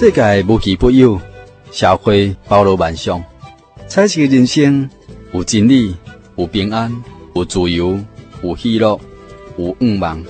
世界無奇不有，社會包羅萬象。彩色人生有真理，有平安，有自由，有喜樂，有願望。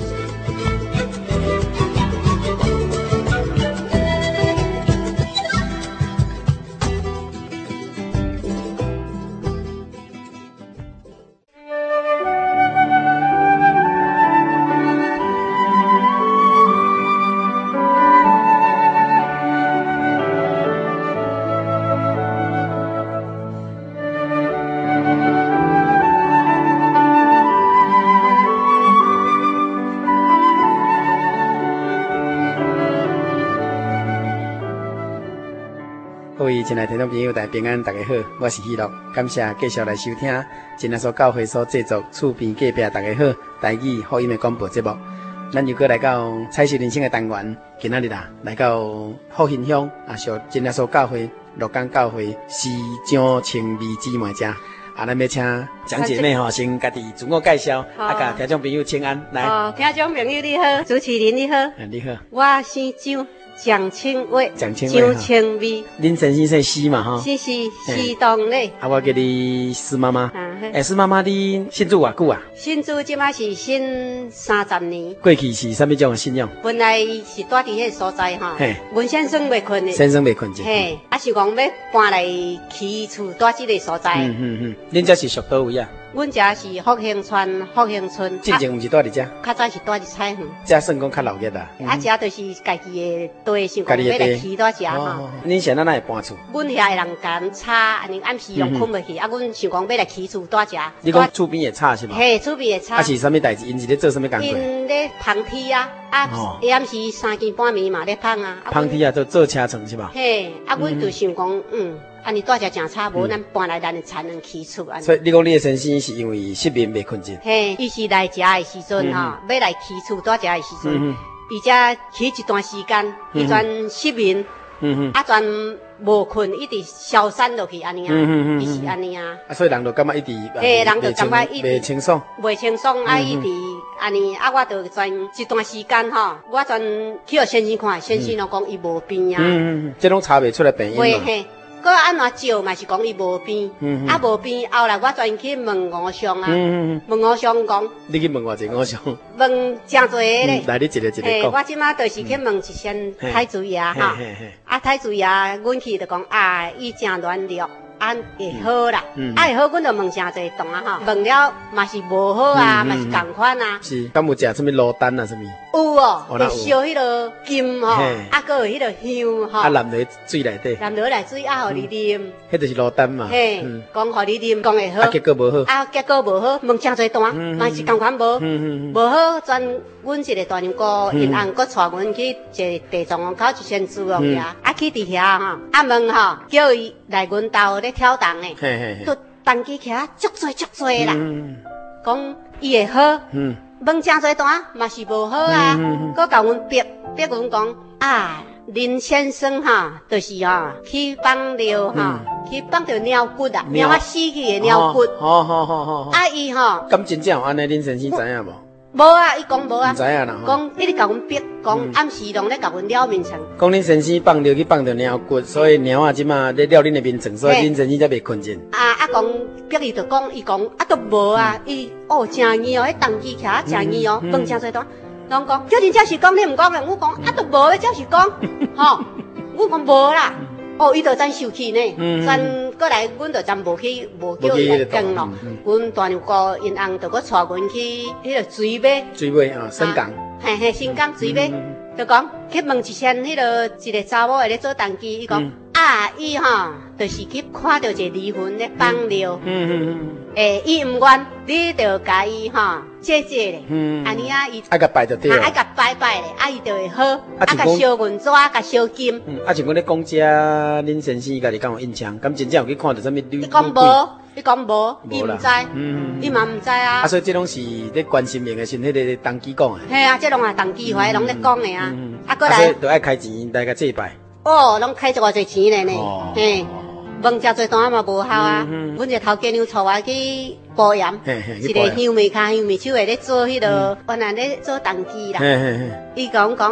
各位親愛的聽眾朋友，大家平安，大家好，我是喜樂，感謝繼續來收聽真耶穌教會所製作厝邊隔壁大家好台語福音的廣播節目。咱又過來到彩色人生的單元，今仔日來到福興鄉屬真耶穌教會鹿港教會市長青美姊妹家。咱要請蔣姐妹先家己自我介紹，甲聽眾朋友請安來。 聽眾朋友你好，主持人你好， 你好， 我姓蔣。蔣清偉， 蔣清美， 恁先生姓施嘛？ 是當咧。 我叫你施媽媽。施媽媽，你信主偌久啊？ 信主即馬是信30年。 過去是啥物種的信仰？ 本來是住佇迄個所在哈，阮先生未困的。 先生未困者。 嘿，是講要搬來起厝住即個所在。 恁這是屬倒位啊？ 阮家是福興村。 之前毋是住佇遮？ 較早是住佇彩園。 遮算講較老熱啦。 遮就是家己的地，想講要來起住遮哈。 恁現在哪會搬厝？ 阮遐個人間吵，安尼暗時攏困袂去，阮想講要來起厝住遮。 你講厝邊會吵是嗎？ 嘿，厝邊會吵。 是啥物代志？因是咧做啥物工作？ 因咧捧鐵啊，下暗時3更半暝嘛咧捧啊。 捧鐵啊，做車床是吧？ 嘿，阮就想講，安尼住遮誠吵，無咱搬來咱才能起厝安尼。 所以你講你的先生是因為失眠未困覺？ 嘿，伊是來遮的時陣哈，要來起厝住遮的時陣，伊遮起一段時間，伊全失眠，全無困，一直消散落去安尼啊，伊是安尼啊。 所以人就感覺一直， 嘿，人就感覺一直袂清爽， 袂清爽，一直安尼，我就全一段時間吼，我全去互先生看，先生就講伊無病啊。 這攏查袂出來病因嘛。 佮安怎照嘛是講伊無病，無病後來我專去問吳尚啊，問吳尚講， 你去問偌濟吳尚？ 問誠濟咧。 來，你一個講。 我即馬就是去問一聲太子爺哈，太子爺，阮去就講伊誠軟弱，會好啦，會好，阮就問誠濟檔啊哈，問了嘛是無好啊，嘛是共款啊。 是，敢有食啥物羅丹啊啥物？ 有哦，就燒迄個金吼，閣有迄個香吼。 淋落水內底。淋落來水互你啉。 迄就是羅丹嘛。 嘿，講互你啉，講會好。 結果無好。 結果無好，問誠濟段，嘛是共款無。無好，全阮一個大娘哥因翁閣帶阮去一個地藏王口一仙珠哦遐，去佇遐吼，問吼，叫伊來阮兜咧跳動誒，都動機徛足濟啦，講伊會好。問誠濟段嘛是無好啊，閣甲阮逼阮講林先生哈，就是去放尿哈，去放着鳥骨啊，貓仔死去的鳥骨。好。伊吼， 咁真正有安尼，林先生知影無？ 無啊，伊講無啊。唔知影啦。講一直甲阮逼，講暗時攏咧甲阮撩面床。 講林先生放尿去放着鳥骨，所以貓仔即馬咧撩恁的面床，所以林先生才袂困覺。 講逼伊就講，伊講都無啊，伊誠易哦，迄動機徛誠易哦，問誠濟段。攏講，叫恁這是講，你毋講嘅，我講都無，這是講，吼，我講無啦，伊就真生氣呢，真過來，阮就真無叫伊來講咯，阮大娘哥因翁就佮帶阮去迄個水尾新港， 嘿，新港水尾，就講去問一聲，迄個一個查某會咧做動機，伊講伊吼，就是去看到一個離婚咧放尿，伊毋願，你就甲伊吼。姐咧，安尼伊甲拜就對了， 甲拜咧，伊就會好，甲燒銀紙，甲燒金。 像阮咧講遮，林先生家己敢有印象？敢真正有去看到啥物女？ 你講無，伊毋知，伊嘛毋知啊。 所以這攏是咧關心命的，是迄個動機講的。 嘿啊，這攏也動機話，攏咧講的啊。過來， 所以就愛開錢來甲祭拜。 攏開一偌濟錢咧呢，嘿。問誠濟段嘛無效啊！阮一個頭家娘帶我去保鹽，一個香眉手的咧做迄個，原來咧做動機啦。伊講，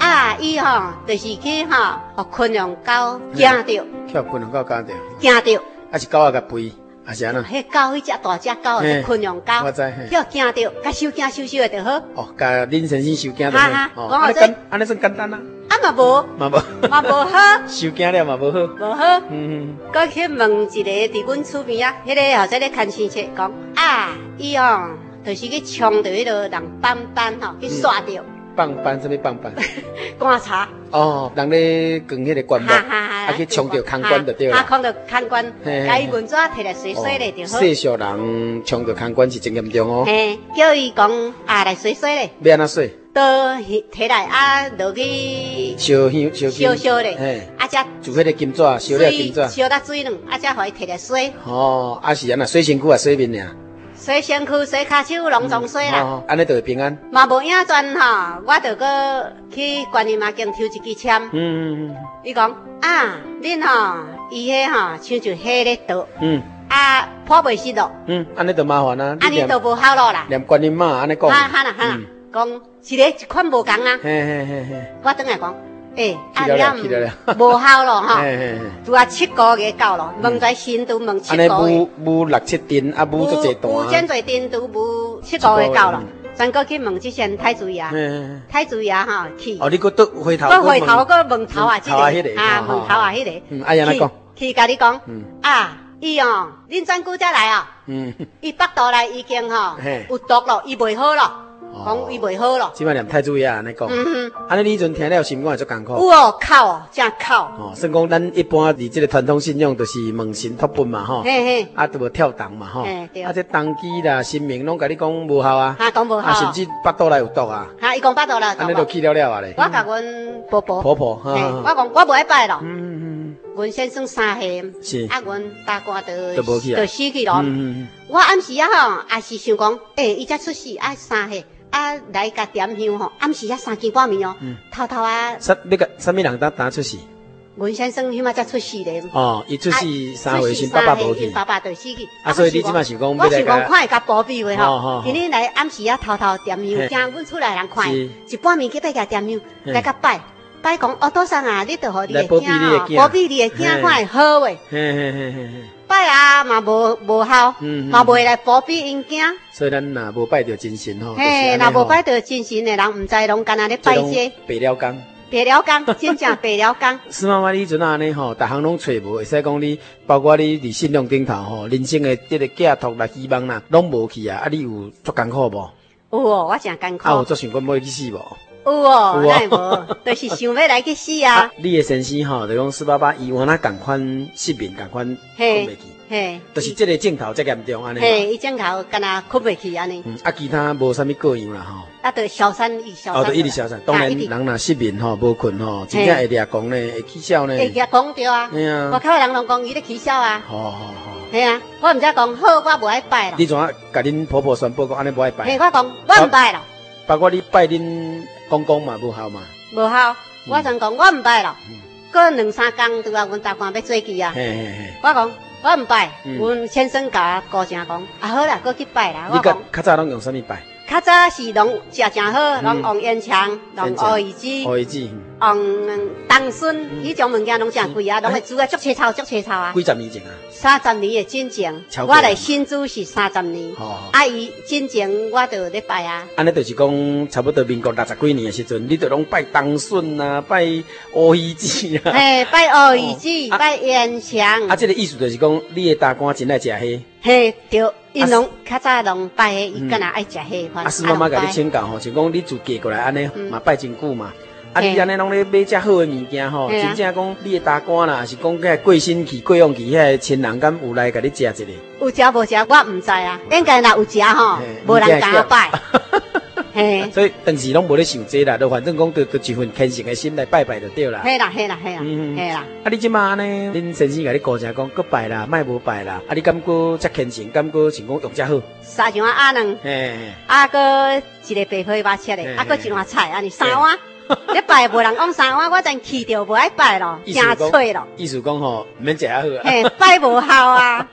啊，伊吼就是去吼，互昆陽狗驚着， 去昆陽狗驚着， 驚着， 啊是狗仔甲吠，啊是安怎？ 迄狗，迄隻大隻狗是昆陽狗， 我知， 迄驚着，甲收驚的就好。 哦，甲林先生收驚就好。 講這安尼算簡單啊？ 啊嘛無好， 收驚了嘛無好， 無好。佮去問一個佇阮厝邊啊，迄個後生咧看生切講啊，伊哦，就是去衝着迄個人斑斑吼，去刷着。 棒斑什麼棒斑？ 觀察。 哦，人咧捲迄個棺木，啊去衝着空棺就對啦。 衝着空棺，甲伊文紙摕來洗洗咧就好。 世俗人衝着空棺是真嚴重哦。 嘿，叫伊講啊來洗洗咧。 要安怎洗？ 都摕來啊落去燒咧， 嘿， 啊才做迄個金紙，燒了金紙， 燒到水軟，啊才互伊摕來洗。 哦，啊是安那洗身軀啊，洗面爾。 洗身軀、洗骹手，攏總洗啦。 安尼就會平安。 嘛無影轉吼，我就擱去觀音媽經抽一支籤。伊講啊，恁吼伊迄吼像就火咧倒。啊，破袂失落。 安尼就麻煩啊。 安尼就無效咯啦。 念觀音媽安尼講。 哈啦，講是咧一款無共啊。我轉來講。啊，了無效咯吼，拄啊7個月到咯，問在新都問7個月， 無6、7陣，啊無足濟段， 無真濟陣都無7個月到咯，咱閣去問即先太子爺，太子爺吼去， 哦，你閣倒回頭， 閣回頭閣問頭啊， 頭啊迄個， 啊問頭啊迄個， 啊安怎講？ 去甲你講，啊，伊哦，恁怎久才來哦？伊腹肚內已經吼有毒咯，伊袂好咯。講伊袂好咯， 即擺念太子爺安尼講，安尼你迄陣聽了心肝會足艱苦。 有哦，哭哦，真哭。 哦，算講咱一般佇即個傳統信仰，就是問神託本嘛，吼，啊，都無跳動嘛，吼，啊，這當機啦、神明攏甲你講無效啊， 講無效， 啊，甚至腹肚內有毒啊， 伊講腹肚內， 安尼就去了啊咧。 我甲阮婆婆，我講我無愛拜咯，阮先生3歲，是，啊，阮大官就死去咯，我暗時啊吼，也是想講，伊才出世啊3歲。啊，來甲點香吼，暗時啊3更半暝哦，偷偷啊。啥物人打出世？ 阮先生迄馬才出世咧。 哦，伊出世3歲時，爸爸無去。 爸爸就死去。 啊，所以你即馬想講， 我想講看會甲保庇話吼，今日來暗時啊偷偷點香，驚阮厝內人看，一半暝去甲點香，來甲拜講，哦，多桑啊，你著互你的囝，保庇你的囝看會好誒。拜啊嘛無效，嘛袂來保庇因囝。 所以咱若無拜着真神吼， 嘿，若無拜着真神的人，毋知攏干那咧拜這。白了工，真正白了工。 師媽媽，你陣安尼吼，逐項攏揣無，會使講你，包括你佇信仰頂頭吼，人生的這個寄托啦、希望啦，攏無去啊！啊，你有足艱苦無？ 有哦，我真艱苦。 啊，有足想講要去死無？ 有哦，哪會無？就是想要來去死啊！ 你的先生吼，就講師爸爸伊原來共款失眠，共款困袂去。嘿，就是這個鏡頭才嚴重安尼。 嘿，伊鏡頭敢若困袂去安尼。 啊，其他無啥物個樣啦吼。 啊，就消散， 哦，就一直消散。當然，人若失眠吼，無困吼，真正會掠講呢，會起笑呢。會掠講對啊。嘿啊。外口人攏講伊咧起笑啊。好。嘿啊，我毋才講好，我無愛拜啦。你怎啊？ 甲恁婆婆宣布講安尼無愛拜？ 嘿，我講我毋拜啦。 包括你拜恁公公嘛，無效嘛。無效，我曾講我毋拜啦。過2、3工，拄啊，阮大官要做去啊。我講。我毋拜，阮先生甲我高聲講，啊好啦，擱去拜啦。 你較早攏用啥物拜？ 較早是攏食誠好，攏用煙腸，用烏魚子，用冬筍，迄種物件攏誠貴啊，攏會煮啊，足青草啊。 幾十年前啊 ？30年的進前，我來新竹是30年。啊，伊進前我就咧拜啊。 安尼就是講，差不多民國60幾年的時陣，你就攏拜冬筍啊，拜烏魚子啊。嘿， 拜烏魚子，拜煙腸。 啊，這個意思就是講，你的大官真愛食蝦。 嘿，對，因攏較早攏拜迄，伊敢若愛食迄。 啊，師媽媽甲你請教吼，就講你自嫁過來安尼嘛拜真久嘛。啊，你安尼攏咧買遮好的物件吼，真正講你的大官啦，是講遐過身去、過往去遐個親人，敢有來甲你食一個？ 有食無食，我毋知啊。應該若有食吼，無人敢拜。嘿， 所以當時攏無咧想這啦，就反正講就一份虔誠的心來拜拜就對啦。 嘿啦。 啊，你即馬安尼，恁先生甲你高聲講，閣拜啦，莫無拜啦。啊，你敢閣遮虔誠，敢閣想講用遮好？ 三樣鴨卵，啊，閣一個白花肉切的，啊，閣一碗菜，安尼3碗。你拜無人講3碗，我真氣着無愛拜咯，真脆咯。 意思講吼，毋免食遐好啊。 嘿，拜無效啊，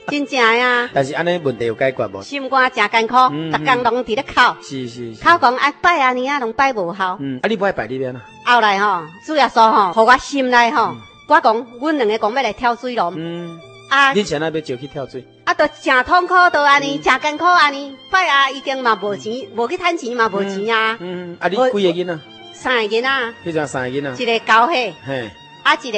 真正呀。 但是安尼問題有解決無？ 心肝真艱苦，逐工攏佇咧哭。 是。 哭講啊拜啊年啊，攏拜無效。 啊你不愛拜你邊啊？ 後來吼，主耶穌吼，互我心內吼，我講，阮兩個講要來跳水咯。啊， 恁前那要招去跳水？ 啊，都真痛苦，都安尼，真艱苦安尼。拜啊，已經嘛無錢，無去趁錢嘛無錢啊。 啊，你幾個囡仔？ 三個囡仔。迄陣三個囡仔。 一個9歲。 嘿。 啊，一個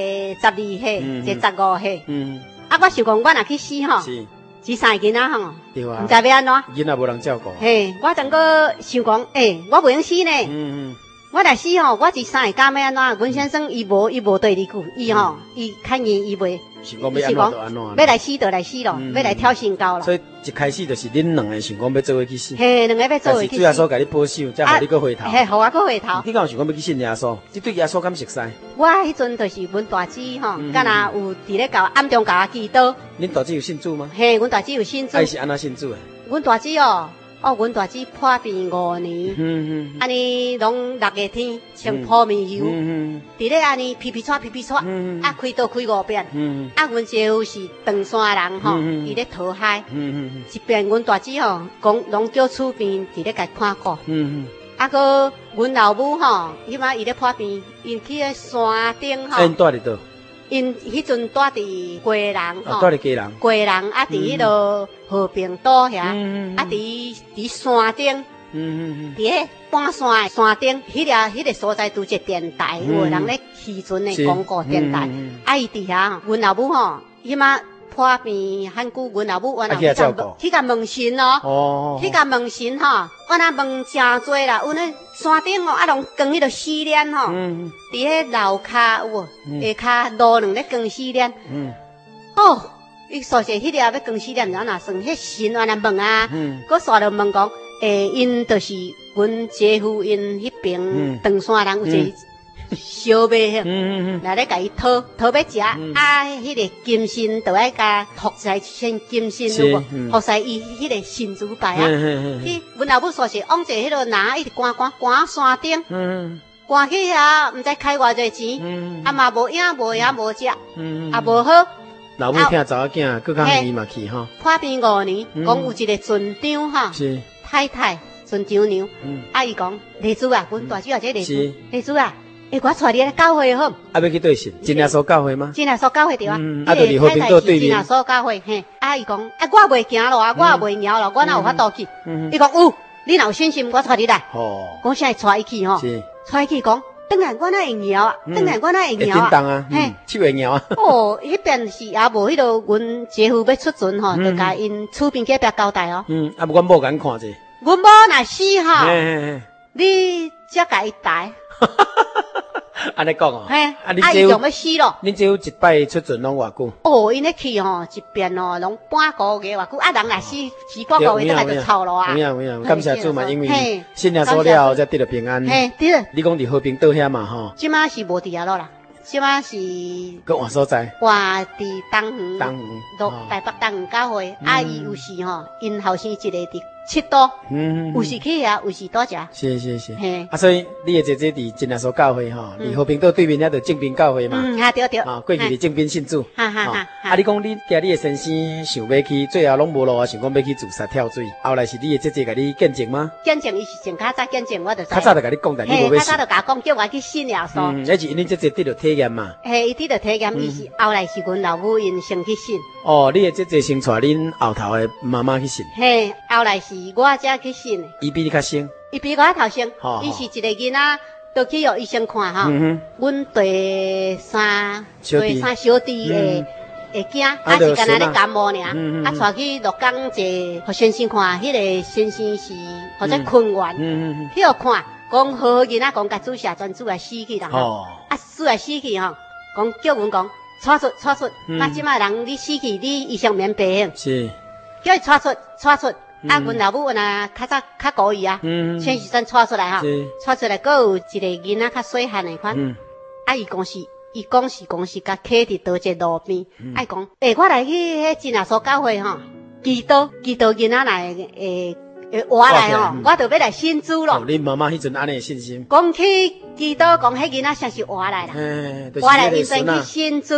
12歲，一個15歲。啊，我想講，我若去死吼。是。這三個囡仔吼。對啊。毋知要安怎。 囡仔無人照顧。 嘿，我當個想講，我袂用死呢。我來死吼，我這三個敢要安怎？阮先生伊無對二句，伊吼，伊看見伊袂。是講要安怎就安怎。要來死就來死咯，要來跳身高咯。所以一開始就是恁兩個想講要做伙去死。 嘿，兩個要做伙去死。但是主耶穌甲你保守，才互你擱回頭。 嘿，互我擱回頭。你敢有想講要去信耶穌？你對耶穌敢熟悉？ 我迄陣就是阮大姊吼，敢若有佇咧教暗中教我祈禱。恁大姊有信主嗎？ 嘿，阮大姊有信主。 伊是安怎信主誒？ 阮大姊阮大姊破病5年，安尼攏6個天穿泡面油，佇咧安尼皮喘，啊開刀開5遍，啊阮姐夫是長山人吼，伊咧討海，一遍阮大姊吼講攏叫厝邊佇咧甲看顧，啊個阮老母吼，迄擺伊咧破病，因去咧山頂吼。因住佇倒？ 因迄陣住佇雞人吼， 住佇雞人， 啊佇迄落和平島遐，啊佇山頂，佇迄半山山頂，迄個所在拄一個電台，有人咧漁船的廣告電台，啊伊佇遐，阮老母吼，迄馬破病很久，阮老母去甲問神咯，去甲問神吼，我那問真多啦，阮咧山頂哦，啊攏光迄個死鏈吼，佇迄樓骹有下骹路兩咧光死鏈，伊說是迄個要光死鏈，然後算迄神安尼問啊，佮煞着問講，因就是阮姐夫因迄邊長山人有一個小妹來咧甲伊討要食，啊，迄個金身就愛甲服侍先金身有無？服侍伊迄個神主牌啊！迄阮老母說是往者迄落拿一直趕山頂，趕去遐毋知開偌濟錢，啊嘛無影無食，啊無好。 老母聽查某囝，佮較遠嘛去吼。 破病5年，講有一個船長哈，太太船長娘，啊伊講麗珠啊，阮大姊啊，這麗珠啊。我帶你來教會好。啊，要去對神？真耶穌教會嗎？真耶穌教會對啊。啊，就離和平島對面。真耶穌教會，嘿。啊，伊講，我袂行咯，我袂鳥咯，我哪有法度去？伊講有，你若有信心，我帶你來。哦。講啥帶伊去吼？是。帶伊去講，當然我哪會鳥啊？當然我哪會鳥啊？叮當啊，嘿，手會鳥啊。哦，迄邊是也無迄個，阮姐夫要出船吼，就甲因厝邊隔壁交代哦。啊，阮某甲恁看者。阮某若死吼，你才甲伊帶。 安尼講哦， 嘿，啊，伊用要死咯。 恁只有一擺出船攏偌久？ 哦，因咧去吼，一遍哦，攏半個月偌久。啊，人若死半個月，倒來就臭咯啊。有影，感謝主嘛，因為信耶穌了後才得了平安。嘿，對。你講佇和平島遐嘛吼？即馬是無佇遐咯啦，即馬是。擱換所在？換佇東園。台北東園教會，啊，伊有時吼，因後生一個佇七島，有時去遐，有時倒食。是。嘿，啊，所以你的姐姐佇真耶穌教會吼，離和平島對面遐就正濱教會嘛。對。啊，過去佇正濱信主。啊，你講你驚你的先生想要去，最後攏無路啊，想講要去自殺跳水。後來是你的姐姐甲你見證嗎？見證，伊是從較早見證，我就。較早就甲你講，但你無要信。較早就甲我講，叫我去信耶穌。那是因你姐姐得了體驗嘛。嘿，伊得了體驗，伊是後來是阮老母因先去信。哦，你的姐姐先帶恁後頭的媽媽去信。嘿，後來是。我才去信的，伊比你較先，伊比我頭先，伊是一個囡仔，都去予醫生看哈。阮第三小弟會驚，啊是干那咧感冒爾，啊帶去鹿港一個先生看，迄個先生是或者困願，去予看，講好囡仔講甲注射專注來死去啦，啊死來死去吼，講叫阮講帶出，啊即馬人你死去，你醫生免賠，是，叫伊帶出。啊，阮老母呐，較早較高伊啊，先時陣帶出來哈，帶出來，閣有一個囡仔較細漢的款，啊，伊講是甲揢佇倒一個路邊，啊講，我來去迄真耶穌教會吼，祈禱囡仔來會活來吼，我就要來信主咯。恁媽媽迄陣安尼信心，講去祈禱，講迄囡仔像是活來啦，活來伊先去信主。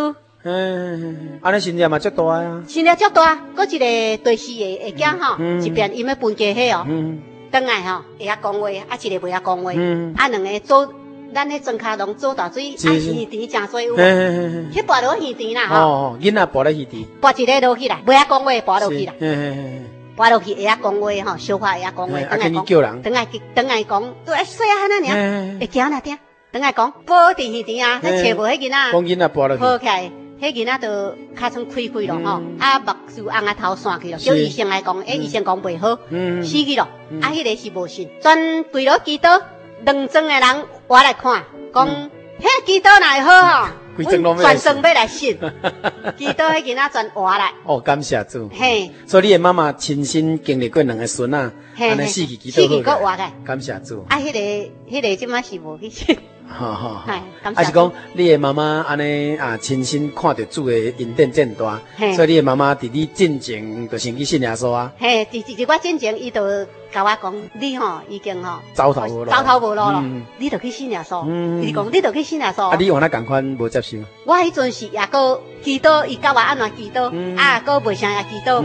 安尼心念嘛足大啊， 心念足大，佫一個對視的會驚吼，一邊因要分家迄哦，轉來吼會曉講話，啊一個袂曉講話，啊兩個做咱迄莊腳攏做大水，啊魚池誠多有，去跋落魚池啦吼， 囡仔跋咧魚池， 跋一個落去啦，袂曉講話跋落去啦，跋落去會曉講話吼，小可會曉講話， 啊跟你叫人， 轉來講，對，細漢那爾，會驚啦聽，轉來講，無佇魚池啊，迄找無迄囡仔， 講囡仔跋落去， 抱起來。迄囡仔就尻川開開咯吼，啊目睭紅啊頭散去咯，叫醫生來講，醫生講袂好，死去咯，啊迄個是無信，全規落祈禱，兩莊的人我來看，講迄祈禱若會好吼，阮全莊要來信，祈禱迄囡仔全活來。 哦，感謝主。 嘿， 所以你的媽媽親身經歷過兩個孫啊，安尼死去祈禱好個，感謝主。 啊，迄個即馬是無去信。 哈，還是講你的媽媽安尼啊，親身看到主的恩典真大，所以你的媽媽佇你進前就先去信耶穌啊。嘿， 佇我進前，伊就甲我講，你吼已經吼走投無路咯，你就去信耶穌。伊講你就去信耶穌。 啊，你原來共款無接受？ 我迄陣時也閣祈禱，伊教我安怎祈禱，啊，閣袂啥也祈禱。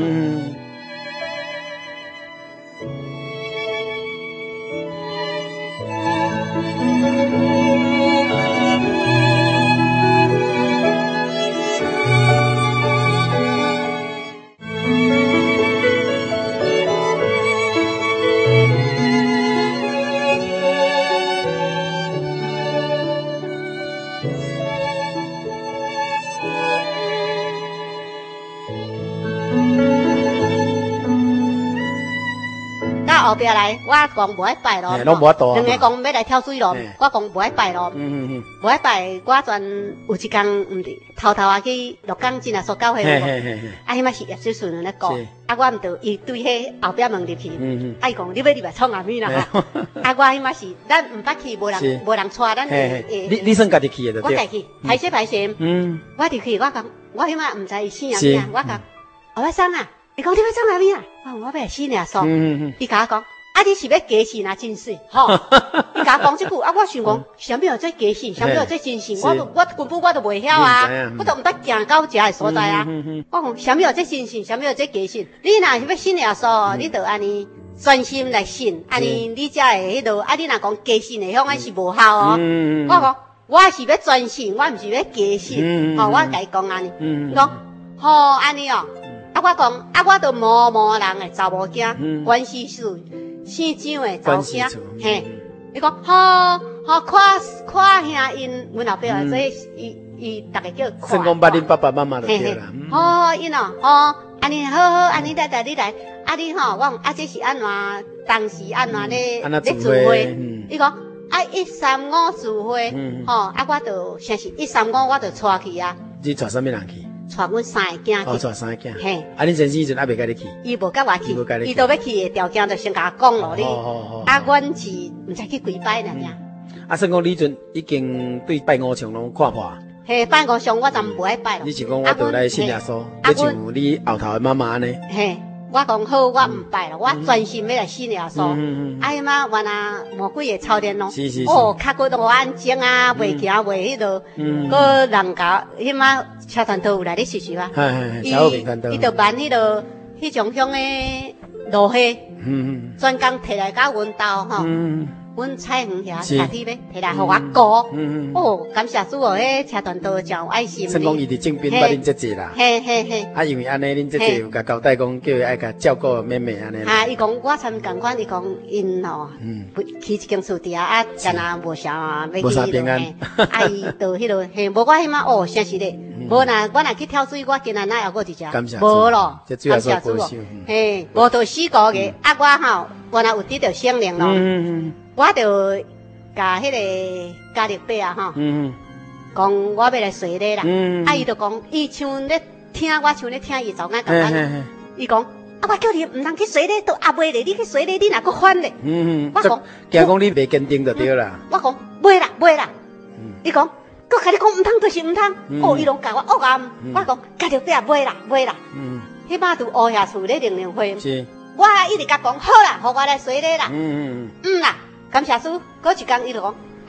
後壁來，我講無愛拜咯，兩個講要來跳水咯，我講無愛拜咯，無愛拜，我全有一天毋是偷偷啊去鹿港真啊所教會咯，啊，迄馬是葉水順咧講，啊，我毋着伊對迄後壁門入去，啊，伊講你要入來創啥物啦？啊，我迄馬是咱毋捌去，無人帶咱誒， 你算家己去的對？ 我家己排泄，我入去，我講我迄馬毋知伊姓啥物啊，我講後尾生啊。伊講你要創啥物啊？我要來信耶穌。伊甲我講，啊，你是要假信啊？真信，吼！伊甲我講這句，啊，我想講，啥物叫做假信？啥物叫做真信？我根本我都袂曉啊，我都毋捌行到遮個所在啊。我講啥物叫做真信？啥物叫做假信？你若是要信耶穌，你就安尼專心來信，安尼你才會迄落。啊，你若講假信的，響是無效哦。我講我是要專心，我毋是要假信。吼，我甲伊講安尼，講吼安尼哦。啊，我講，啊，我都某人誒查某囝，關係處姓張誒查某囝，嘿，伊講好，看兄因，阮後壁啊，所以伊逐個叫看。 算講捌恁爸爸媽媽就對啦。 好，因哦，安尼好，安尼你來，啊你吼，我講啊，這是安怎？當時安怎咧聚會？伊講啊135聚會，吼，啊我就像是135我就帶去啊。 你帶啥物人去？ 帶阮三個囝去， 帶三個囝。 嘿， 啊，恁先生迄陣還未甲你去？ 伊無甲我去，伊都要去的條件就先甲我講咯你。啊，阮是毋知去幾擺呢？ 啊，算講你陣已經對拜五常攏看破。 嘿，拜五常我就無愛拜咯。 你是講我倒來信耶穌，就像你後頭的媽媽呢？ 嘿，我講好，我毋拜咯，我專心要來信耶穌。啊，伊媽原來魔鬼會操練咯。是。哦，較過都安靜啊，袂行袂迄落，個人家迄媽車團都有來咧試試啊。伊就辦迄落迄種種誒路戲，專工摕來甲阮兜吼。阮菜園遐下底咧，摕來互我過。哦，感謝主哦，迄車團都真有愛心。算講伊佇正邊捌恁姐姐啦。嘿。啊，因為安尼恁姐姐有甲交代講，叫伊愛甲照顧妹妹安尼。 啊，伊講我參共款，伊講因吼，去一間厝底啊，干那無啥要去。無啥平安。啊，伊到迄落，嘿，無我迄馬哦，真是咧。無我若去跳水，我今仔哪還閣佇遮。感謝主。無咯，感謝主哦。嘿，無到4個月，啊，我吼原來有得到聖靈咯。我就甲迄個家力伯啊，吼，講我要來隨禮啦。啊，伊就講，伊像咧聽我，像咧聽伊早間講安。伊講，啊，我叫你毋通去隨禮，都壓袂咧，你去隨禮，你若閣反咧。我講， 驚講你袂堅定就對啦。 我講，袂啦。伊講，閣甲你講毋通，就是毋通。哦，伊攏教我惡暗。我講，家力伯袂啦。迄擺拄烏遐厝咧靈會。我一直甲講好啦，互我來隨禮啦。啦。感謝主，嗰一天伊就講，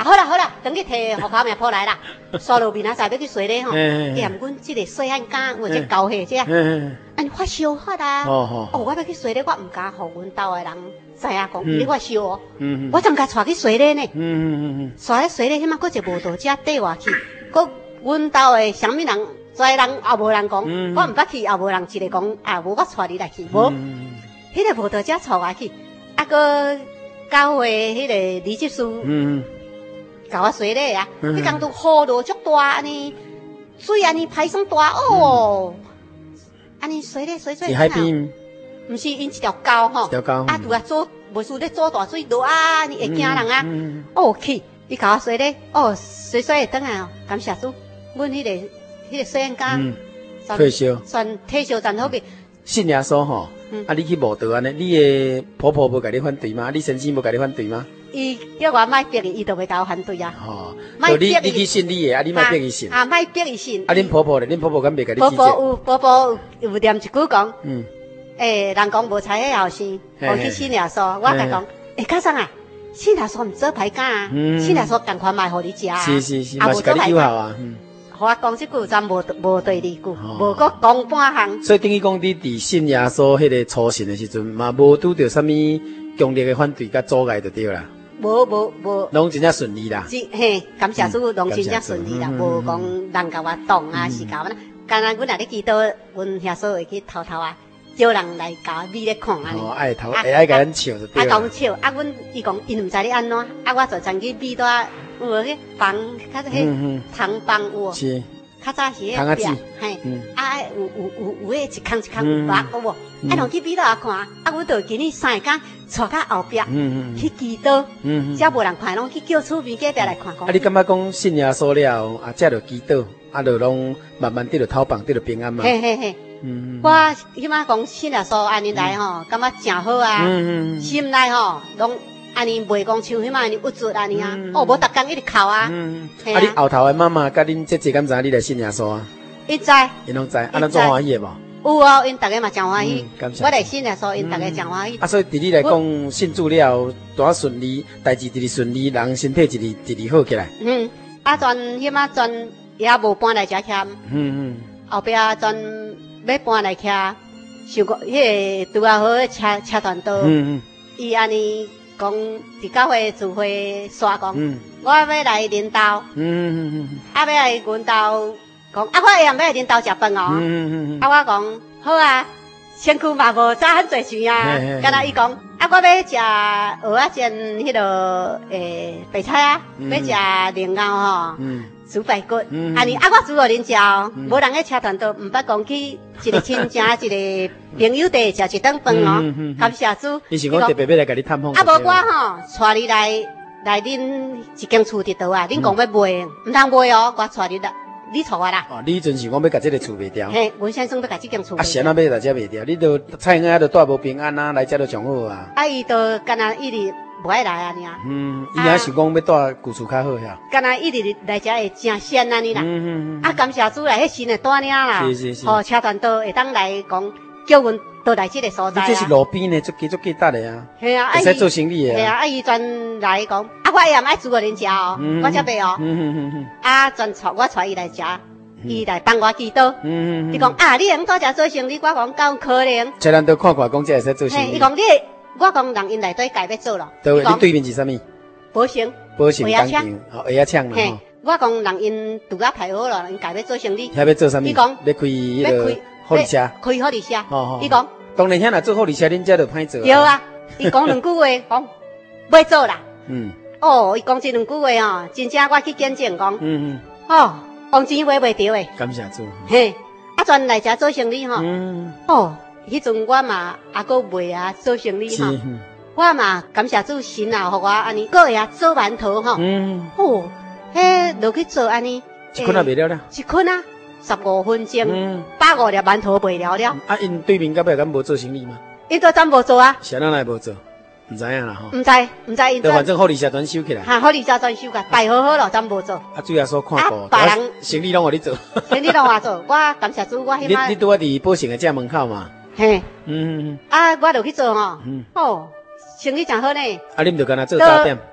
好啦，等去摕戶口名簿來啦。刷路面啊，再要去洗咧吼，驗阮即個細漢間或者交貨這啊，安尼發燒發啊。我要去洗咧，我唔敢互阮兜的人知影講你發燒哦。我怎甲帶去洗咧呢？帶咧洗咧，迄馬閣一個無道者缀我去，閣阮兜的啥物人，遮人也無人講，我唔捌去也無人一個講啊，無我帶你來去，無。迄個無道者帶我去，啊閣交貨迄個李執事。甲我洗咧啊！迄工都雨落足大，安尼水安尼排上大哦，安尼洗咧洗。 是海邊？ 毋是，因一條溝吼。一條溝。啊，拄啊做，無事咧做大水落啊，安尼會驚人啊。哦，去，伊甲我洗咧，哦，洗會轉來哦，感謝主，阮迄個細漢間， 退休， 算退休真好個。 信耶穌吼，啊，你去無道安尼，你的婆婆無甲你反對嗎？你先生無甲你反對嗎？ 伊叫我莫逼伊，伊就袂甲我反對啊。 哦，就你去信你的，啊，你莫逼伊信。 啊，莫逼伊信。 啊，恁婆婆咧？恁婆婆敢袂甲你？ 婆婆有念一句講，人講無才迄後生，我去信耶穌，我甲講，家長啊，信耶穌毋做歹囝啊，信耶穌共款賣互你食啊。 是，嘛是甲你友好啊。 互我講即句，咱無對二句，無閣講半項。 所以等於講你佇信耶穌迄個初信的時陣，嘛無拄着啥物強烈的反對甲阻礙就對啦。無，攏真正順利啦。 嘿，感謝主，攏真正順利啦，無講人甲我擋啊，是甲我啦。剛才阮若咧祈禱，阮遐所會去偷啊，叫人來甲我美咧看安尼。哦，愛偷，愛甲咱笑就對啦。甲阮笑，阮伊講因毋知咧安怎，我就曾去美帶有迄房，較迄糖房有。是。較早是迄壁，嘿，有迄一空有白個無，攏去美帶看，阮就今日3個帶到後壁去祈禱，遮無人看，攏去叫厝邊隔壁來看。 你感覺講信耶穌了，遮就祈禱，就攏慢慢得着討棒，得着平安嘛。嘿，我迄馬講信耶穌安尼來吼，感覺真好啊，心內吼攏安尼袂講像迄馬安尼鬱卒安尼啊，無逐工一直哭啊。你後頭的媽媽甲恁姐姐敢知你來信耶穌啊？伊知，因攏知，咱做歡喜的無？有哦，因大家嘛真歡喜。我來信耶穌，因大家真歡喜。所以對你來講，信主了，多順利，代志一直順利，人身體一直好起來。迄馬全也無搬來遮徛。後壁全要搬來徛，想講迄個拄啊好車團道。伊安尼。講佇教會聚會刷講，我要來恁兜，要來阮兜講，我下暗要來恁兜食飯哦。我講好啊，身軀嘛無早很濟錢啊。敢若伊講，我要食蚵仔煎迄個白菜啊，要食蓮藕吼，煮排骨。安尼我煮互恁食哦，無人喺車團道，毋捌講去一個親戚一個朋友地食一頓飯哦。感謝主。伊是講特別要來甲你探訪。無我吼，帶你來恁一間厝佇倒啊，恁講要賣，毋通賣哦，我帶你來，你帶我啦。哦，你陣是講要甲這個厝賣掉。嘿，阮先生要甲這間厝賣掉。啊，誰那要來遮賣掉？你都菜園都帶無平安啊，來遮都上好啊。啊，伊都干那一直無愛來安尼啊。伊也想講要帶舊厝較好遐。干那一直來遮會真鮮安尼啦。啊，感謝主來，迄新的帶領啦。是。吼，車團道會當來講，叫阮倒來這個所在啊。這是路邊的，足價值的啊。係啊，會使做生意的。係啊，伊專來講，我也唔愛煮互恁食哦，我才賣哦。啊，專我帶伊來食，伊來幫我祈禱。伊講啊，你用多食做生意，我講夠可能。車團道看看講，這會使做生意。伊講你。我講人因內底改要做咯。對，你對面是啥物？保險工廠，哦，蚵仔廠嘛。嘿，我講人因拄啊排好咯，因改要做生意。遐要做啥物？伊講要開迄個護理車。開護理車。伊講當然遐若做護理車，恁遮就歹做。有啊，伊講兩句話，講要做啦。哦，伊講這兩句話哦，真正我去見證講。哦，黃錢買袂着誒。感謝主。嘿，啊，專來遮做生意吼。哦。迄陣我嘛也閣賣啊做生意吼，我嘛感謝主神啊，互我安尼，閣會啊做饅頭吼。哦，迄落去做安尼，一捆也賣了了。一捆啊，15分鐘，150粒饅頭賣了了。啊，因對面隔壁敢無做生意嗎？因都咱無做啊。誰人來無做？毋知影啦吼。毋知，因。就反正護理社全收起來。哈，護理社全收起來，擺好好咯，咱無做。啊，主要說看過，別人生意攏互你做。生意攏我做，我感謝主，我迄擺。你拄啊佇寶盛的遮門口嘛？嘿，啊，我就去做吼，哦，生意真好呢。啊，你毋就干那做早點？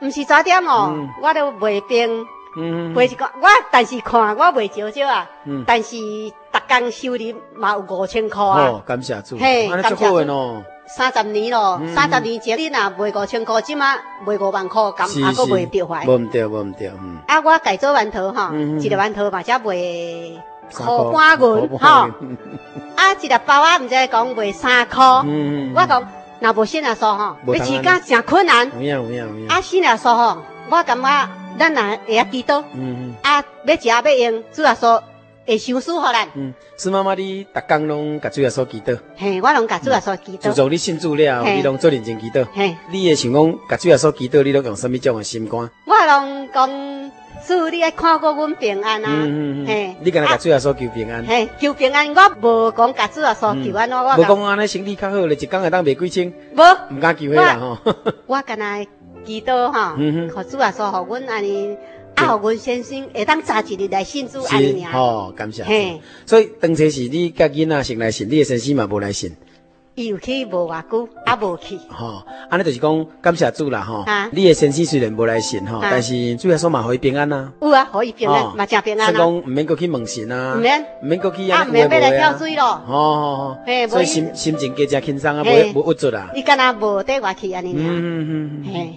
毋是早點哦，我都賣冰，賣一個我，但是看我賣少少啊，但是逐工收入嘛有5000塊啊。 哦，感謝主，嘿，感謝主。 30年咯，30年前你若賣5000塊，即馬賣5萬塊，咁也閣賣着懷。 無毋對，無毋對。 啊，我改做饅頭吼，一個饅頭嘛才賣塊半銀吼，啊，一粒包啊，毋知講賣3塊。我講若無新亞素吼，要飼甲誠困難。有影。啊，新亞素吼，我感覺咱若會曉記倒。啊，要食要用主亞素。會傷輸互咱。 孫媽媽，你逐工攏甲主耶穌祈禱。嘿， 我攏甲主耶穌祈禱。 自從你信主了，你攏做認真祈禱。嘿，你會想講甲主耶穌祈禱，你攏用什麼種的心肝？ 我攏講主，你愛看顧阮平安啊。 嘿，你敢若甲主耶穌求平安？嘿， 求平安，我無講甲主耶穌求安怎，我無講安尼身體較好，咧一工會當賣幾千。無，毋敢求迄啦吼。 我敢若祈禱吼，互主耶穌互阮安尼。啊，互阮先生會當早一日來信主安尼爾。 吼，感謝。嘿，所以當初是你甲囡仔先來信，你的先生嘛無來信。 伊有去無偌久，啊無去。 吼，安尼就是講感謝主啦吼。你的先生雖然無來信吼，但是主耶穌嘛互伊平安啊。有啊，互伊平安，嘛真平安啊。所以講毋免擱去問神啊，毋免擱去啊，毋免要來跳水咯。吼，嘿，所以心情加真輕鬆啊，無鬱卒啊。伊敢若無缀我去安尼爾。嘿。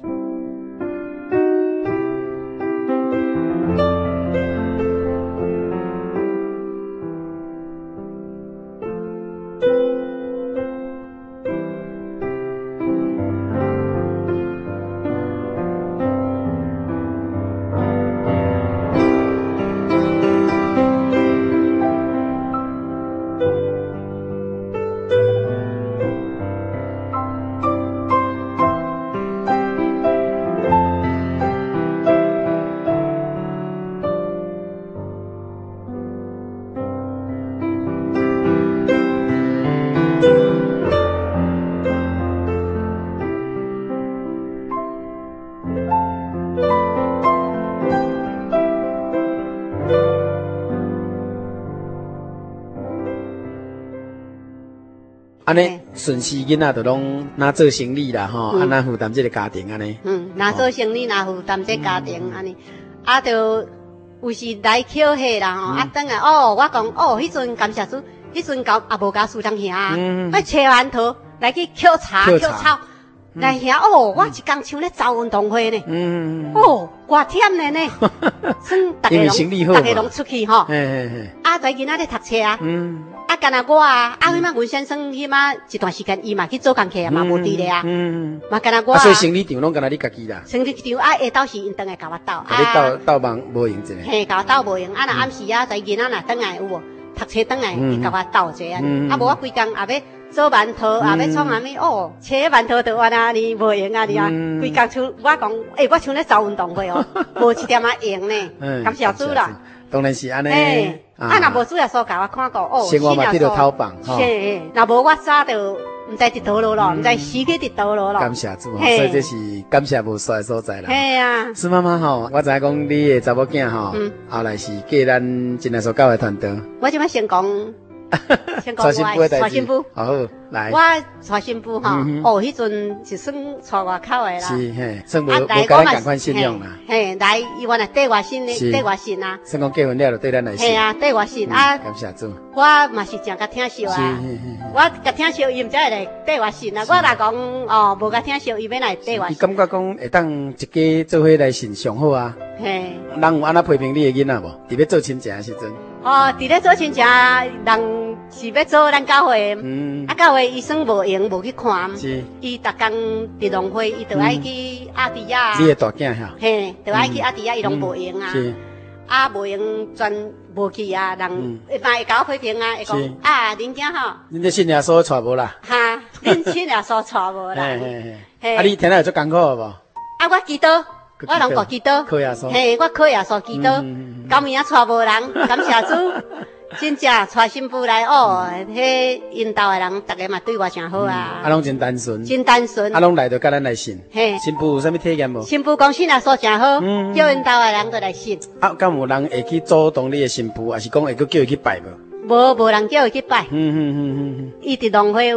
安尼順勢囡仔就攏拿做生理啦吼，啊拿負擔這個家庭安尼。 拿做生理，拿負擔這個家庭安尼，啊就有時來抾貨啦吼，啊等下我講迄陣感謝主，迄陣搞也無甲輸當兄啊，我切饅頭來去抾茶抾草，來兄我一工像咧走運動會呢，偌忝呢，算大家攏出去吼，啊在囡仔咧讀冊啊。啊，干那我啊，迄馬阮先生迄馬一段時間伊嘛去做工課啊，嘛無佇咧啊，嘛干那我啊。 所以生理場攏干那你家己啦。 生理場啊，下晝時因轉來甲我鬥。 你鬥忙無用一個。 嘿，甲我鬥無用，啊，若暗時啊，在囡仔若轉來有無？讀冊轉來，伊甲我鬥者啊，啊無我規工也要做饅頭，也要創啥物切饅頭就安尼無用啊，你啊，規工像我講，我像咧走運動會哦，無一點仔用呢，感謝主啦。 當然是安尼。 啊，若無主耶穌甲我看過， 生活嘛，佇著偷放， 是，若無我早就毋知佇倒落咯，毋知死去佇倒落咯。 感謝主，所以這是感謝無衰所在啦。 係啊， 孫媽媽吼，我知影講你的查某囝吼，後來是嫁咱真耶穌教會團隊。我即擺先講我娶新婦，好來。我娶新婦吼，迄陣是算娶外口的啦。是嘿，算無甲咱共款信用啦。嘿，來伊原來對外信的，對外信啊。算講結婚了就對咱來信。嘿啊，對外信啊。感謝主。我嘛是真甲聽惜啊。我甲聽惜伊毋才會來對外信啊。我若講無甲聽惜，伊要來對外信。伊感覺講會當一家做伙來信上好啊。嘿。人有安那批評你的囡仔無？佇要做親戚的時陣。佇咧做親戚，人是要做咱教會，啊教會醫生無用，無去看，伊逐工佇農會，伊就愛去阿迪亞。你的大囝哈？嘿，就愛去阿迪亞，伊攏無用啊，啊無用全無去啊，人嘛會甲我批評啊，會講啊恁囝吼，恁這信耶穌娶無啦？哈，恁信耶穌娶無啦？啊你聽了有做艱苦無？啊我祈禱。我攏顧祈禱，嘿，我靠耶穌祈禱，到明仔娶無人，感謝主，真正娶新婦來迄因兜的人，大家嘛對我真好啊。啊，攏真單純，真單純。啊，攏來就甲咱來信。嘿，新婦有啥物體驗無？新婦講信耶穌真好，叫因兜的人都來信。啊，敢有人會去主動你的新婦，還是講會去叫伊去拜無？無人叫伊去拜。伊佇農會有無？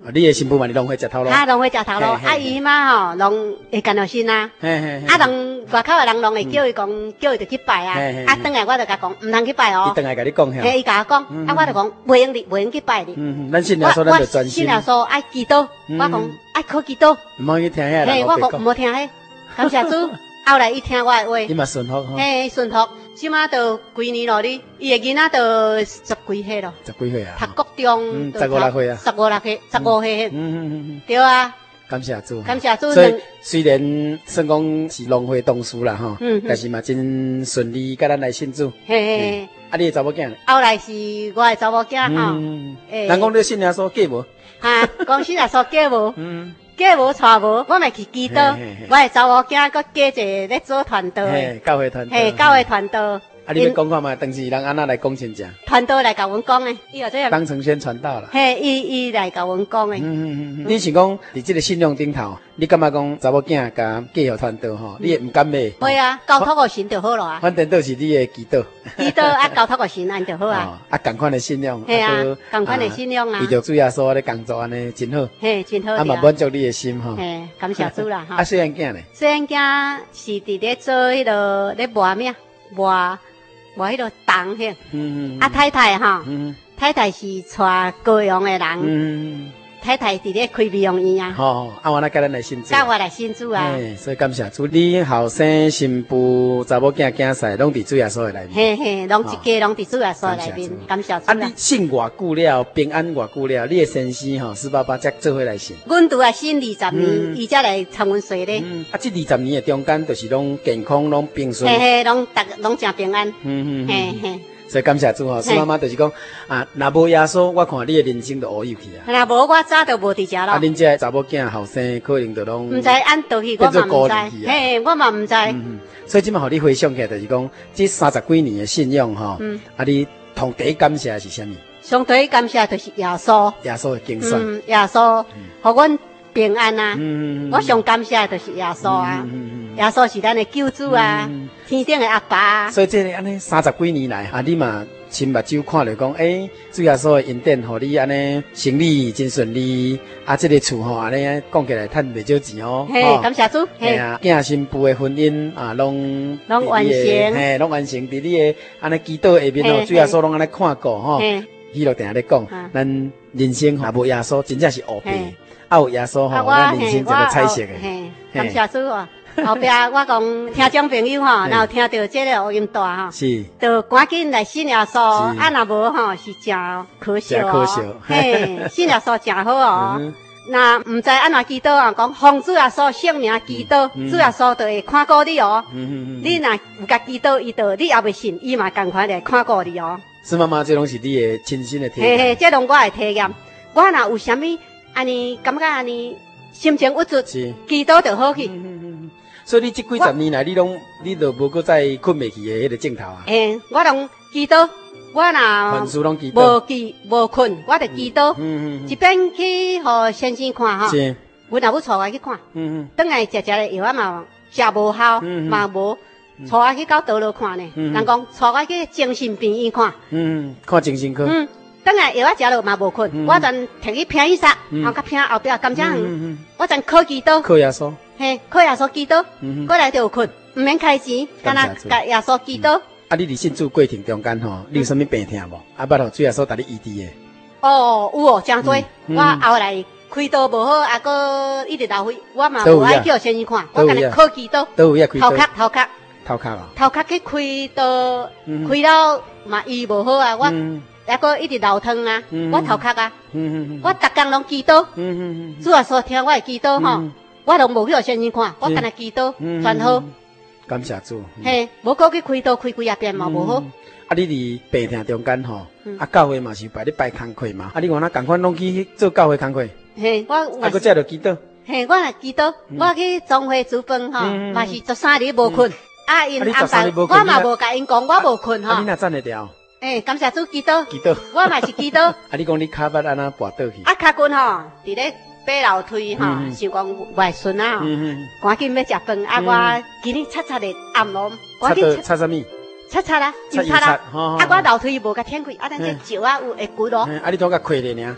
你的新婦嘛，你攏會食頭路。 攏會食頭路，伊嘛吼，攏會干到心啊。攏外口的人攏會叫伊講，叫伊就去拜啊。轉來我就甲講，唔通去拜哦。 伊轉來甲你講嚇。 伊甲我講，我就講，袂用去拜哩。 咱信耶穌，咱就專心。 信耶穌愛祈禱，我講愛靠祈禱。 唔好去聽遐人。 我講唔好聽迄，感謝主。後來伊聽我的話， 伊嘛順服吼。 順服。即馬都幾年咯，你伊個囡仔都10幾歲咯。10幾歲啊？讀國中。15、16歲啊。15歲。對啊。 感謝主。 感謝主。 所以雖然算講是浪費同事啦吼，但是嘛真順利，甲咱來信主。嘿。啊，你的查某囝呢？後來是我的查某囝吼。人講你信耶穌嫁無？哈，講信耶穌嫁無？嫁無娶無，我咪去祈禱。我的查某囝閣嫁一個咧做傳道的。教會傳道。嘿，教會傳道。啊，你要講看嘛？當時人安那來講真正。傳道來甲阮講誒，伊後這樣。當成宣傳道啦。嘿，伊來甲阮講誒。你是講佇這個信仰頂頭，你感覺講查某囝甲嫁予傳道吼，你會毋甘買？會啊，交託互神就好了啊。反正都是你的祈禱。祈禱啊，交託互神安就好啊。啊，同款的信仰。嘿啊，同款的信仰啊。伊就主耶穌咧工作安尼真好。嘿，真好。啊嘛滿足你的心吼。嘿，感謝主啦哈。啊，細漢囝呢？細漢囝是佇咧做迄個咧磨麵磨迄個銅迄，啊太太哈，太太是帶高陽的人，太太佇咧開美容院啊。吼，啊我那甲咱來信主，甲我來信主啊。所以感謝主，你後生新婦查某囝囝婿攏佇主耶穌的內面。嘿嘿，攏一家攏佇主耶穌內面，感謝主。啊，你信偌久了，平安偌久了，你的先生吼4爸才做伙來信。阮拄啊信20年，伊才來參阮洗咧。啊，這20年的中間，就是攏健康，攏平順。嘿嘿，攏真平安。嘿嘿。所以感謝主吼，蘇媽媽就是講啊，若無耶穌，我看你的人生就烏有去啊。若無我早就無佇遮咯。啊，恁這查某囝後生可能就攏唔知按倒去，我嘛唔知。嘿，我嘛唔知。所以今麥互你回想起來，就是講這30幾年的信仰吼，啊，你同第一感謝是啥物？上第一感謝就是耶穌。耶穌的精選。耶穌，互阮平安啊。我上感謝就是耶穌啊。耶穌是咱的救主啊，天頂的阿爸。所以這個安尼30幾年來，啊，你嘛親目睭看着講，主耶穌的恩典，互你安尼生理真順利，啊，這個厝吼安尼講起來賺袂少錢哦。嘿，感謝主。嘿啊，囝新婦的婚姻啊，攏完成，嘿，攏完成。佇你的安尼祈禱下面吼，主耶穌攏安尼看顧吼。伊就定咧講，咱人生若無耶穌，真正是烏白。啊，有耶穌吼，咱人生一個彩色的。嘿，感謝主啊。後壁我講聽眾朋友吼，然後聽到這個錄音帶吼，是，就趕緊來信耶穌，啊，若無吼是真可惜哦。嘿，信耶穌真好哦。那唔知安怎祈禱啊？講奉主耶穌聖名祈禱，主耶穌就會看顧你哦。你若有甲祈禱，伊就你也未信，伊嘛同款來看顧你哦。是媽媽，這攏是你的親身的體驗。嘿嘿，這攏我的體驗。我若有啥物安尼感覺安尼心情鬱卒，祈禱就好去。所以你這幾十年來，你都無擱再困未去的迄個鏡頭啊？嘿，我攏祈禱，我若無困，我就祈禱。一邊去互先生看吼，阮也要帶我去看。轉來食的藥嘛食無效，嘛無帶我去到倒落看呢。人講帶我去精神病院看。看精神科。轉來藥食了嘛無困，我全摕去拼醫煞，後甲拼後壁甘蔗園，我全靠祈禱。靠耶穌。嘿，靠耶穌祈禱，過來就有困，唔免開錢，干那甲耶穌祈禱。啊，你佇信主過程中間吼，你有啥物病痛無？啊，捌互主耶穌帶你醫治誒。哦，有哦，真多。我後來開刀無好，啊，擱一直流血，我嘛無愛叫先生看，我干那靠祈禱。都有開刀。頭殼啊。頭殼去開刀，開了嘛醫無好啊，我還擱一直流湯啊，我頭殼啊，我逐工攏祈禱。主耶穌聽我誒祈禱吼。我都無去互先生看，我干那祈禱，全好。感謝主。嘿，無過去開刀開幾啊遍嘛無好。啊，你佇病痛中間吼，啊，教會嘛是擺咧擺工課嘛，啊，你看那共款攏去做教會工課。嘿，我啊，擱這著祈禱。嘿，我也祈禱，我去總會煮飯吼，嘛是13日無困。啊，因安排，我嘛無甲因講，我無困吼。啊，你哪站得掉？誒，感謝主祈禱。祈禱。我嘛是祈禱。啊，你講你骹捌安那跋倒去？啊，骹筋吼，佇咧。爬樓梯吼，想講外孫啊，趕緊要食飯。啊，我今日擦的暗攏，趕緊擦啥物？擦啦，又擦啦。啊，我樓梯無甲舔開，啊，但這石啊有會骨咯。啊，你都甲開咧爾？啊，我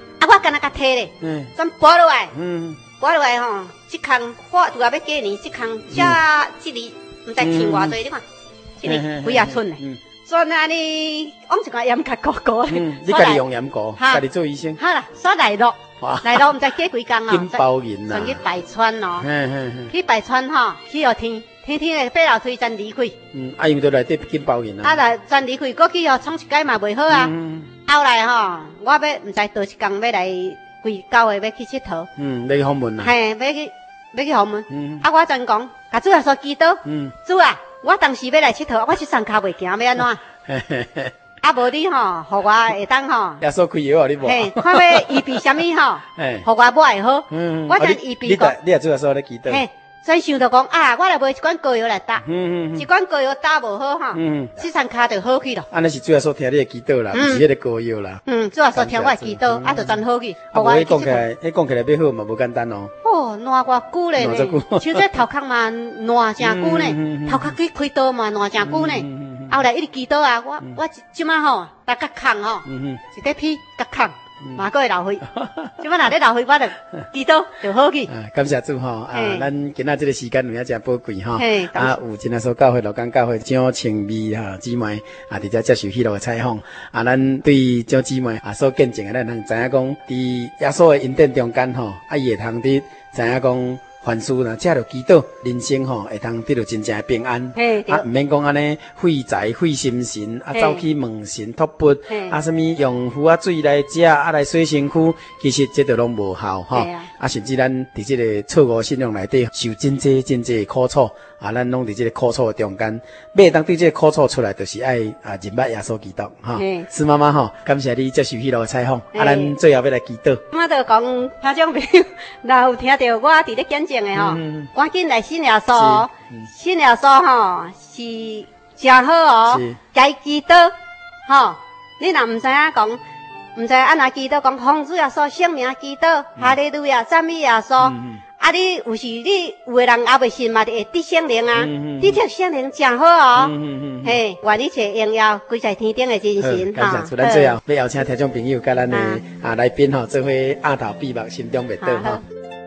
干那個梯咧，轉拔落來，拔落來吼，這空花拄啊要過年，這空這裡唔知天偌濟，你看，這裡幾啊寸咧，轉安尼往一個鹽殼糊糊咧， 你家己用鹽糊，家己做醫生， 好啦，所來落，來落唔知過幾工啊， 金包銀啦， 轉去拜川咯，去拜川吼，去後天咧八樓推轉離開， 啊因為都內底金包銀啊， 啊來轉離開，過去吼創一屆嘛袂好啊，後來吼，我要唔知倒一工要來規9月要去佚佗， 要去訪問啦， 嘿，要去訪問，啊我專講，甲主耶穌祈禱，主啊，我當時要來佚佗，我這雙腳袂行，要安怎？啊無你吼，互我會當吼， 耶穌開藥你無？ 嘿，看要醫治啥物吼，互我買會好，我將醫治過。 你也主耶穌咧祈禱。 嘿，所以想到講啊，我來買一罐膏藥來打，一罐膏藥打無好吼，這雙腳就好去了。 安尼是主耶穌聽你的祈禱啦，不是迄個膏藥啦。 主耶穌聽我的祈禱，啊就真好去。 啊，無講起來，講起來要好嘛，無簡單哦。 哦，爛偌久咧呢，像這頭殼嘛爛真久呢，頭殼去開刀嘛爛真久呢。後來一直祈禱啊，我即馬吼，打甲空吼，一塊皮甲空，嘛閣會流血。即馬若咧流血，我就祈禱就好去。 感謝主吼，啊，咱今仔這個時間有影真寶貴吼，啊，有真啊所教會羅崗教會蔣清美哈姊妹啊，佇遮接受許多個採訪，啊，咱對蔣姊妹啊所見證的，咱通知影講，佇耶穌的恩典中間吼，啊，伊會通佇知影講。凡事呢，這就祈禱，人生吼會通得到真正的平安。啊，唔免講安尼費財費心神，啊走去問神托缽，啊什麼用壺啊水來食，啊來洗身軀，其實這都攏無效吼。啊，甚至咱佇這個錯誤信仰內底受真濟苦楚，啊，咱攏佇這個苦楚的中間，要當對這個苦楚出來，就是愛啊認捌耶穌基督哈。施媽媽吼，感謝你接受許多個採訪，啊，咱最後要來祈禱。 我就講，聽眾朋友，若有聽到我佇咧見證的吼，趕緊來信耶穌，信耶穌吼是真好哦，該祈禱吼。你若唔知影講，唔知安怎祈禱講，奉主耶穌聖名祈禱，哈利路亞，讚美耶穌。啊，你有時你有個人也未信嘛，會得聖靈啊，你得聖靈真好哦。嘿，願你賜榮耀歸在天頂的真神哈。感謝主，咱最後要邀請聽眾朋友甲咱的來賓吼，做伙額頭閉目，心中默禱吼。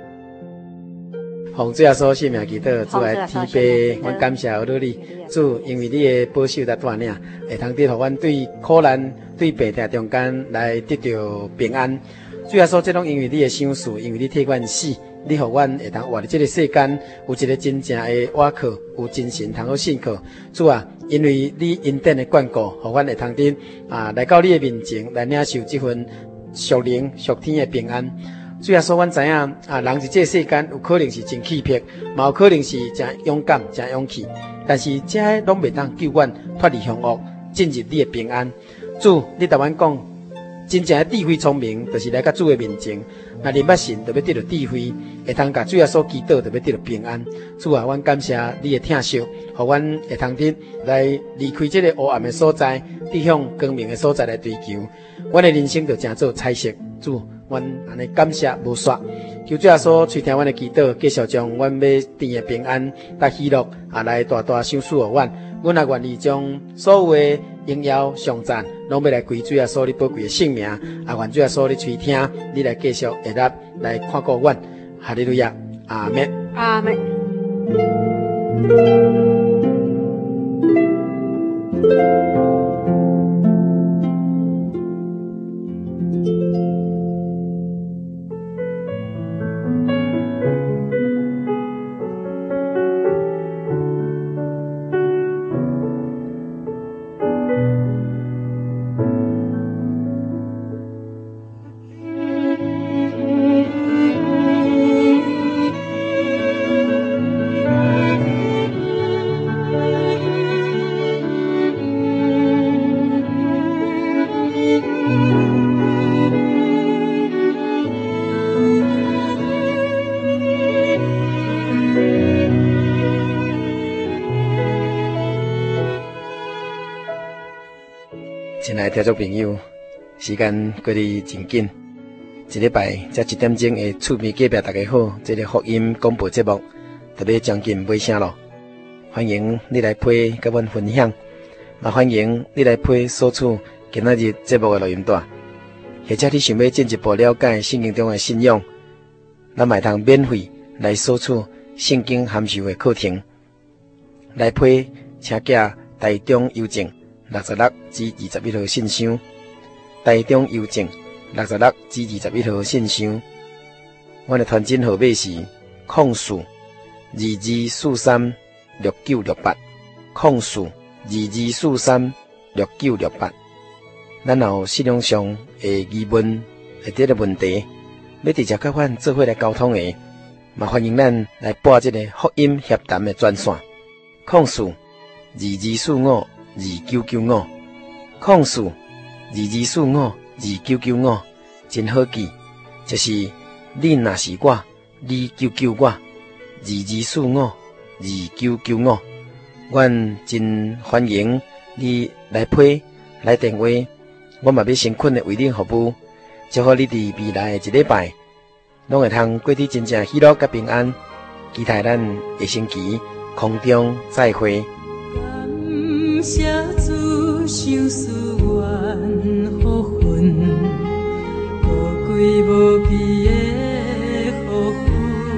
奉主耶穌聖名祈禱，主來天父，阮感謝有你，主因為你的保守甲帶領，會通得互阮對苦難、對病痛中間來得到平安。主耶穌，這種因為你的賞賜，因為你替阮死。你互阮會當活佇這個世間，有一個真正的倚靠，有真神通好信靠。主啊，因為你恩典的眷顧，互阮會通得來到你的面前，來領受這份屬靈屬天的平安。主耶穌，阮知影人佇這個世間有可能是真氣魄，嘛有可能是真勇敢、真勇氣，但是這攏袂當救阮脫離凶惡，進入你的平安。主，你甲阮講，真正的智慧聰明，就是來到主的面前。那認捌神，就要得到智慧；會通甲主耶穌祈禱，就要得到平安。主啊，阮感謝你的疼惜，互阮會通得來離開這個黑暗的所在，直向光明的所在來追求。阮的人生就成做彩色。主，阮安尼感謝無煞。求主耶穌垂聽阮的祈禱，繼續將阮要甜的平安、甲喜樂來大大賞賜互阮。阮也願意將所有的榮耀、頌讚，攏要來歸主耶穌你寶貴的聖名。也願主耶穌你垂聽，你來繼續會答來看顧阮。哈利路亞，阿門。阿門。親愛的聽眾朋友，時間過得真緊，一禮拜才1點鐘的厝邊隔壁大家好，這個福音廣播節目特別將近尾聲咯。歡迎你來陪跟阮分享，也歡迎你來陪索取今仔日節目的錄音帶。 或者你想要進一步了解聖經中的信仰，咱嘛會通免費來索取聖經函授的課程。來批請寄台中郵政66至21號信箱，台中郵政66至21號信箱。我的傳真號碼是0422436968，0422436968。咱有信仰上的疑問或者問題，要直接甲阮做伙來溝通的，嘛歡迎咱來撥這個福音協談的專線，0422452995，0422452995，真好記，就是你若是我，你救救我，22452995，阮真歡迎你來批來電話。我嘛要誠懇的為你服務，祝福你佇未來的一禮拜，攏會通過得真正喜樂甲平安。期待咱下星期空中再會。 感謝主賞賜願福分，寶貴無比的福分，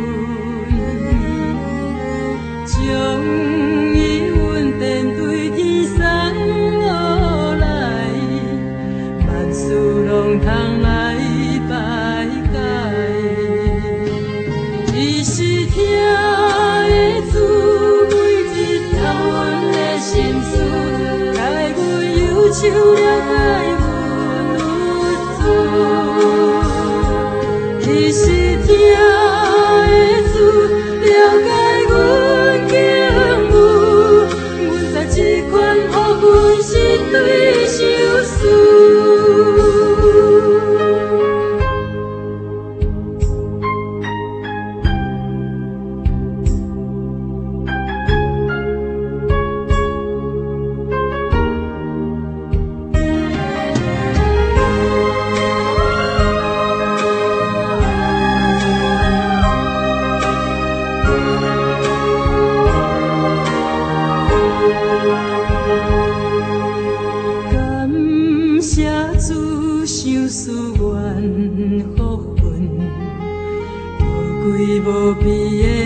將伊恩典對天送落來，萬事攏通來拜改。伊是聽的主，每日透阮的心事，改阮憂愁了解阮無助。伊是聽的主，了解阮境遇，阮在這款予阮是對相思。無比的